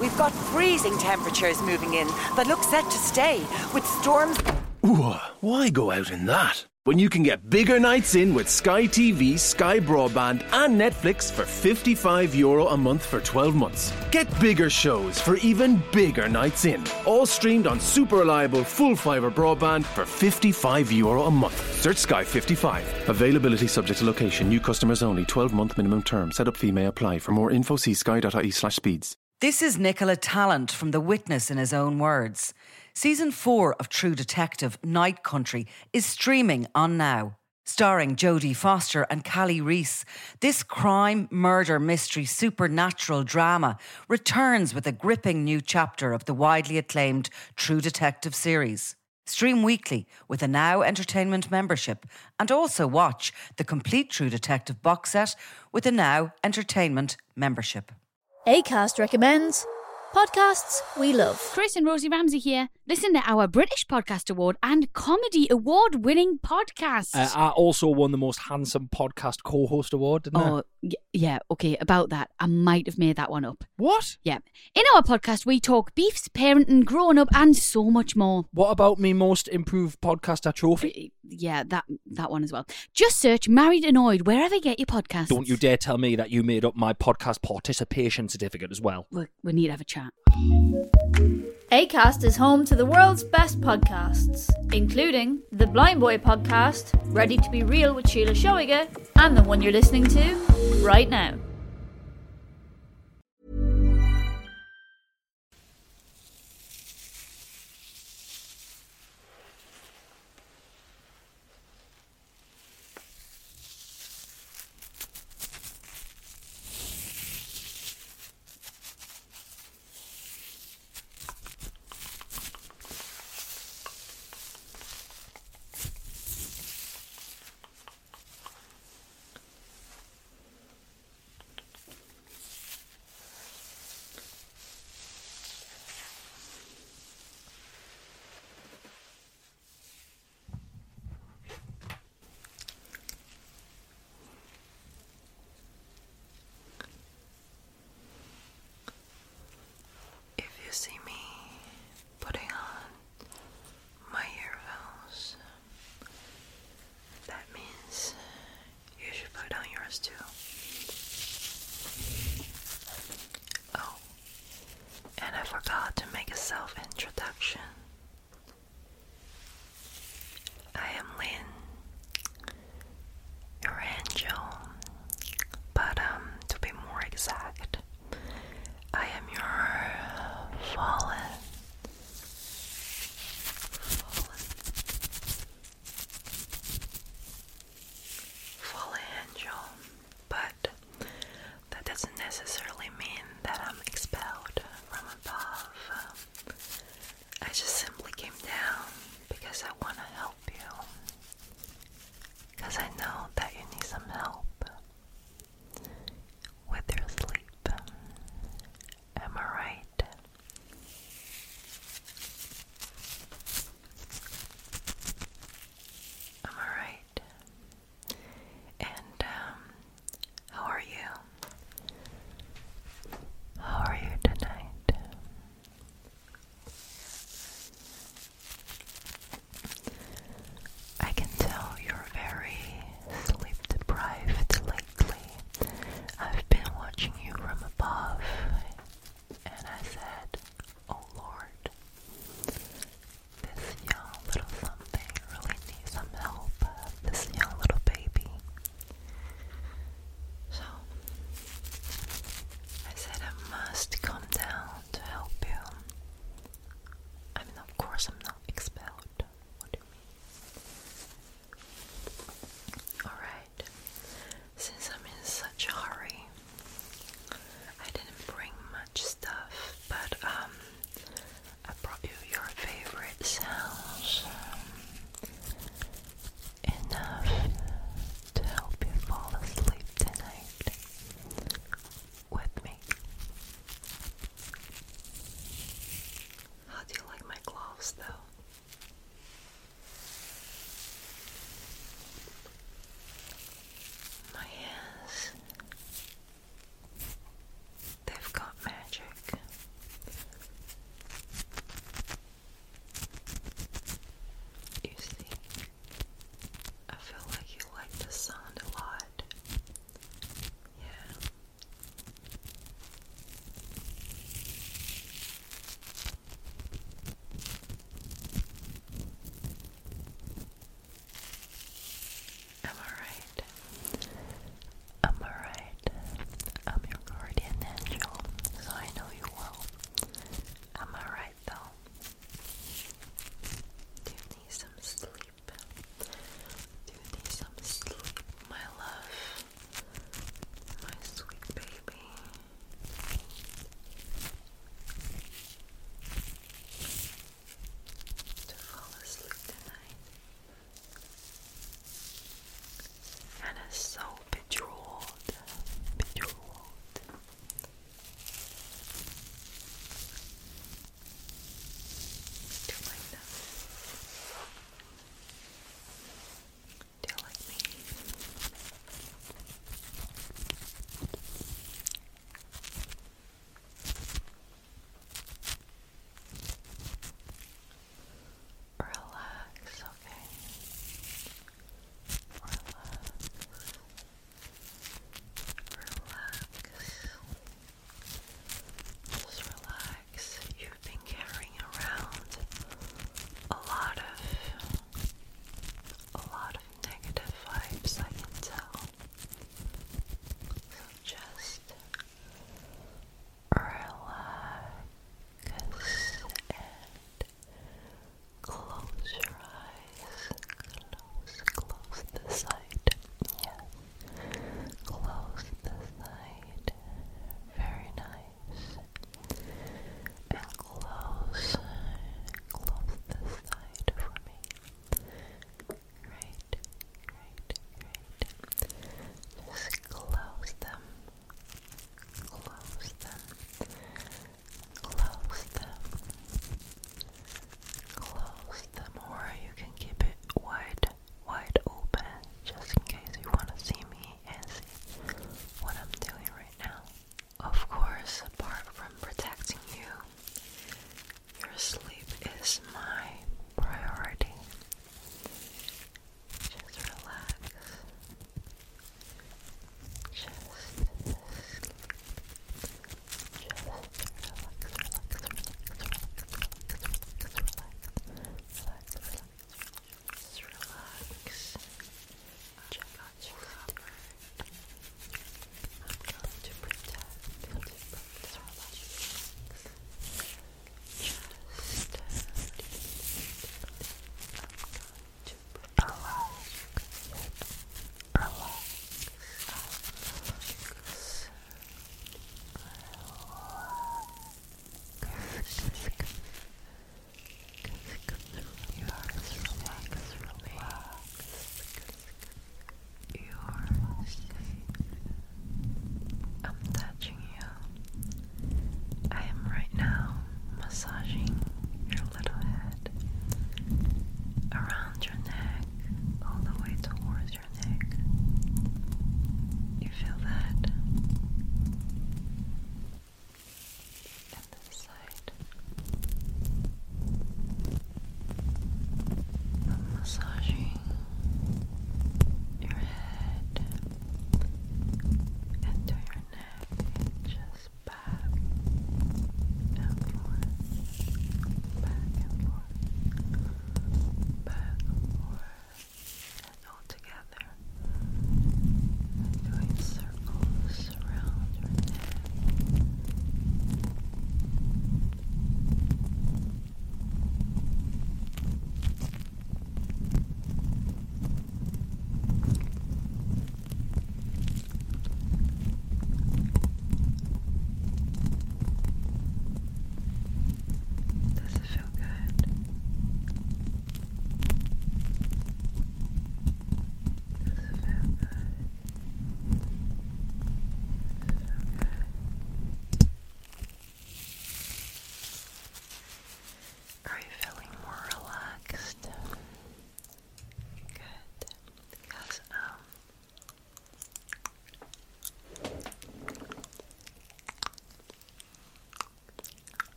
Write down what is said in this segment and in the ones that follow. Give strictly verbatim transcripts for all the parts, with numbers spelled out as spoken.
We've got freezing temperatures moving in that look set to stay, with storms... Ooh, why go out in that? When you can get bigger nights in with Sky T V, Sky Broadband and Netflix for fifty-five euro a month for twelve months. Get bigger shows for even bigger nights in. All streamed on super reliable full fibre broadband for fifty-five euro a month. Search Sky fifty-five. Availability subject to location. New customers only. twelve month minimum term. Set up fee may apply. For more info, see sky.ie slash speeds. This is Nicola Tallant from The Witness in his own words. Season four of True Detective Night Country is streaming on Now. Starring Jodie Foster and Callie Reese, this crime, murder, mystery, supernatural drama returns with a gripping new chapter of the widely acclaimed True Detective series. Stream weekly with a Now Entertainment membership, and also watch the complete True Detective box set with a Now Entertainment membership. Acast recommends podcasts we love. Chris and Rosie Ramsey here. Listen to our British Podcast Award and Comedy Award winning podcast. Uh, I also won the most handsome podcast co-host award, didn't oh, y- yeah, okay, about that. I might have made that one up. What? Yeah. In our podcast, we talk beefs, parenting, growing up, and so much more. What about me most improved podcaster trophy? Yeah, that that one as well. Just search Married Annoyed wherever you get your podcasts. Don't you dare tell me that you made up my podcast participation certificate as well. We, we need to have a chat. Acast is home to the world's best podcasts, including the Blind Boy podcast, Ready to Be Real with Sheila Shoiga, and the one you're listening to right now.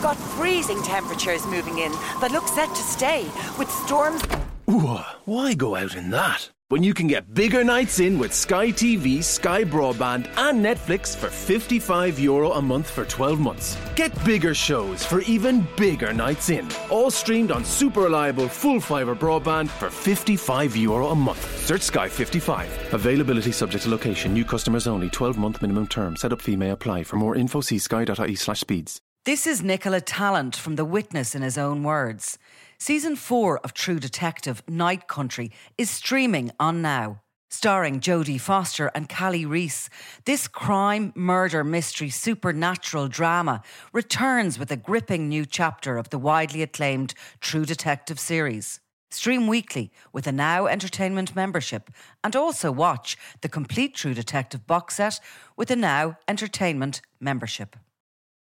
got freezing temperatures moving in that look set to stay, with storms... Ooh, why go out in that? When you can get bigger nights in with Sky T V, Sky Broadband and Netflix for fifty-five euro a month for twelve months. Get bigger shows for even bigger nights in. All streamed on super reliable full fibre broadband for fifty-five euro a month. Search Sky fifty-five. Availability subject to location. New customers only. twelve month minimum term. Setup fee may apply. For more info, see sky.ie slash speeds. This is Nicola Tallant from The Witness in his own words. Season four of True Detective Night Country is streaming on Now. Starring Jodie Foster and Callie Reese, this crime, murder, mystery, supernatural drama returns with a gripping new chapter of the widely acclaimed True Detective series. Stream weekly with a Now Entertainment membership, and also watch the complete True Detective box set with a Now Entertainment membership.